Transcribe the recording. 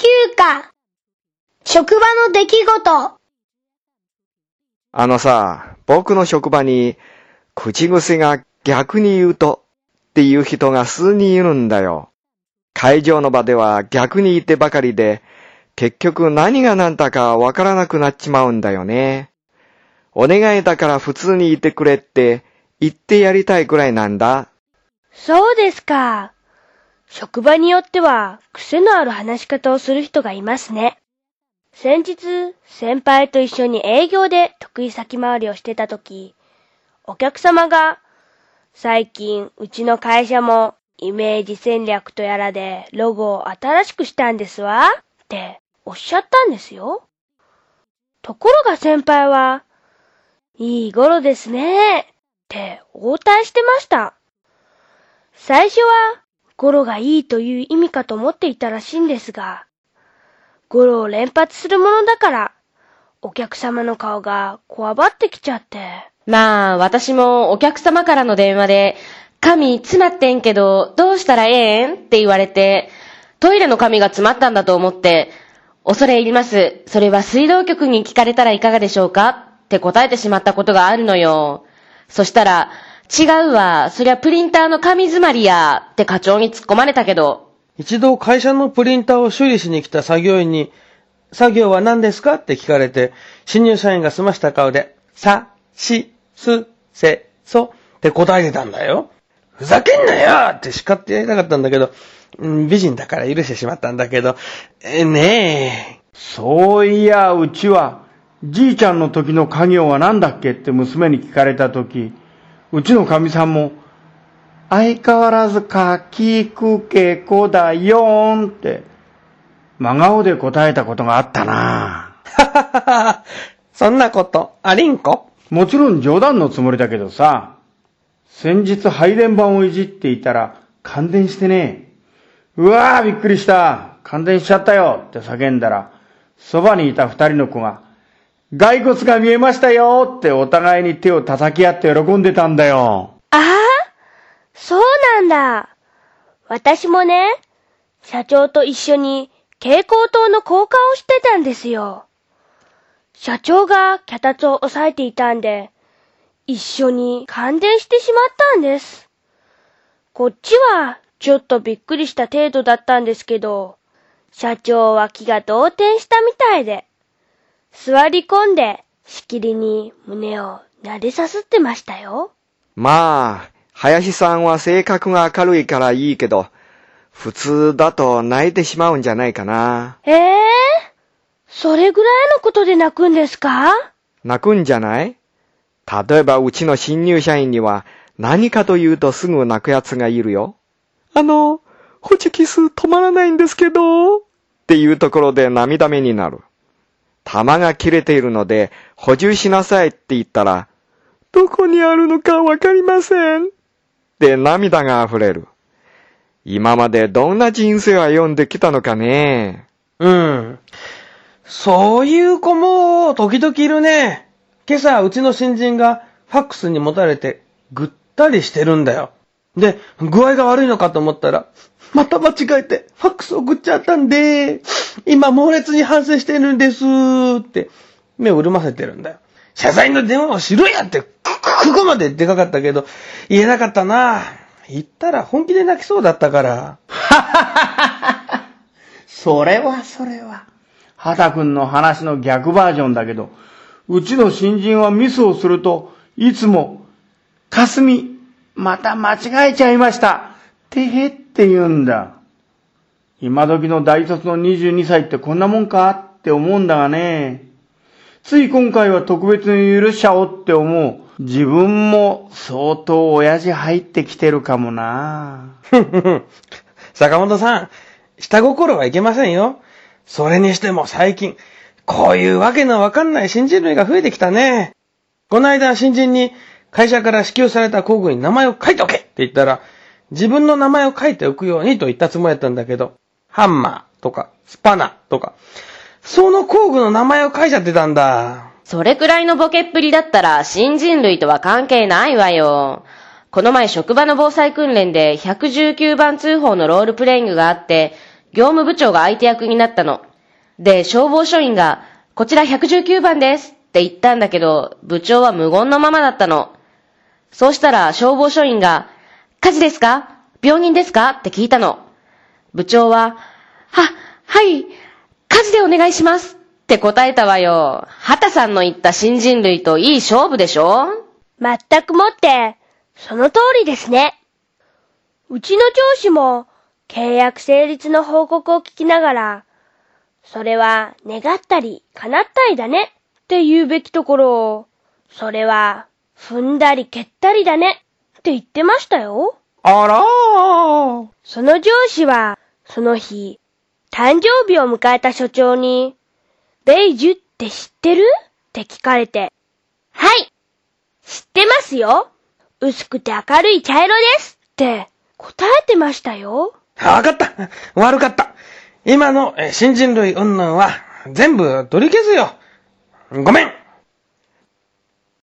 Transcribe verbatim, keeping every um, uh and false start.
休暇。職場の出来事。 あのさ、僕の職場に口癖が逆に言うとっていう人が数人いるんだよ。会場の場では逆に言ってばかりで、結局何が何だかわからなくなっちまうんだよね。お願いだから普通に言ってくれって言ってやりたいくらいなんだ。 そうですか。職場によっては癖のある話し方をする人がいますね。先日、先輩と一緒に営業で得意先回りをしてたとき、お客様が、最近うちの会社もイメージ戦略とやらでロゴを新しくしたんですわっておっしゃったんですよ。ところが先輩は、いい頃ですねって応対してました。最初は語呂がいいという意味かと思っていたらしいんですが、語呂を連発するものだから、お客様の顔がこわばってきちゃって。 まあ、私もお客様からの電話で、紙詰まってんけど、どうしたらええんって言われて、トイレの紙が詰まったんだと思って、恐れ入ります。それは水道局に聞かれたらいかがでしょうかって答えてしまったことがあるのよ。そしたら、違うわ、そりゃプリンターの紙詰まりや、って課長に突っ込まれたけど。 一度会社のプリンターを修理しに来た作業員に、作業は何ですかって聞かれて、新入社員が済ました顔で、さ、し、す、せ、そって答えてたんだよ。ふざけんなよって叱ってやりたかったんだけど、美人だから許してしまったんだけど、えねえ。 そういや、うちは、じいちゃんの時の家業は何だっけって娘に聞かれた時、うちのかみさんも、相変わらずかきくけこだよーんって、真顔で答えたことがあったな。 はははは。そんなこと、ありんこ？ もちろん冗談のつもりだけどさ、先日配電盤をいじっていたら感電してね、うわーびっくりした、感電しちゃったよって叫んだら、そばにいた二人の子が、骸骨が見えましたよってお互いに手を叩き合って喜んでたんだよ。 ああ、そうなんだ。私もね、社長と一緒に蛍光灯の交換をしてたんですよ。社長が脚立を押さえていたんで、一緒に感電してしまったんです。こっちはちょっとびっくりした程度だったんですけど、社長は気が動転したみたいで、座り込んでしきりに胸を撫でさすってましたよ。 まあ、林さんは性格が明るいからいいけど、普通だと泣いてしまうんじゃないかな。 ええー、それぐらいのことで泣くんですか？ 泣くんじゃない？例えばうちの新入社員には何かと言うとすぐ泣くやつがいるよ。あの、ホチキス止まらないんですけど、っていうところで涙目になる。玉が切れているので補充しなさいって言ったら、どこにあるのかわかりませんって涙が溢れる。今までどんな人生を歩んできたのかね。 うん。そういう子も時々いるね。今朝うちの新人がファックスに持たれてぐったりしてるんだよ。で、具合が悪いのかと思ったら、また間違えてファックス送っちゃったんで、今猛烈に反省してるんですって目を潤ませてるんだよ。謝罪の電話をしろやって、ここまで出かかったけど、言えなかったな。言ったら本気で泣きそうだったから。 それはそれは。畑くんの話の逆バージョンだけど、うちの新人はミスをすると、いつも、かすみ、また間違えちゃいました。てへって言うんだ。今時の大卒のにじゅうにさいってこんなもんかって思うんだがね。つい今回は特別に許しちゃおうって思う。自分も相当親父入ってきてるかもな。 坂本さん、下心はいけませんよ。それにしても最近、こういうわけのわかんない新人類が増えてきたね。この間新人に会社から支給された工具に名前を書いておけって言ったら、自分の名前を書いておくようにと言ったつもりだったんだけど、ハンマーとかスパナとか、その工具の名前を書いちゃってたんだ。 それくらいのボケっぷりだったら新人類とは関係ないわよ。この前職場の防災訓練でひゃくじゅうきゅうばん通報のロールプレイングがあって、 業務部長が相手役になったの。で、消防署員が、こちらひゃくじゅうきゅうばんですって言ったんだけど、部長は無言のままだったの。そうしたら消防署員が、火事ですか？病人ですか？って聞いたの。部長は、は、はい、火事でお願いしますって答えたわよ。畑さんの言った新人類といい勝負でしょ？ 全くもって、その通りですね。うちの上司も契約成立の報告を聞きながら、それは願ったり叶ったりだねって言うべきところを、それは踏んだり蹴ったりだねって言ってましたよ。 あらー。 その上司は、その日、誕生日を迎えた所長に、ベイジュって知ってる？って聞かれて、はい、知ってますよ。薄くて明るい茶色ですって答えてましたよ。 わかった。悪かった。今の新人類云々は全部取り消すよ。ごめん。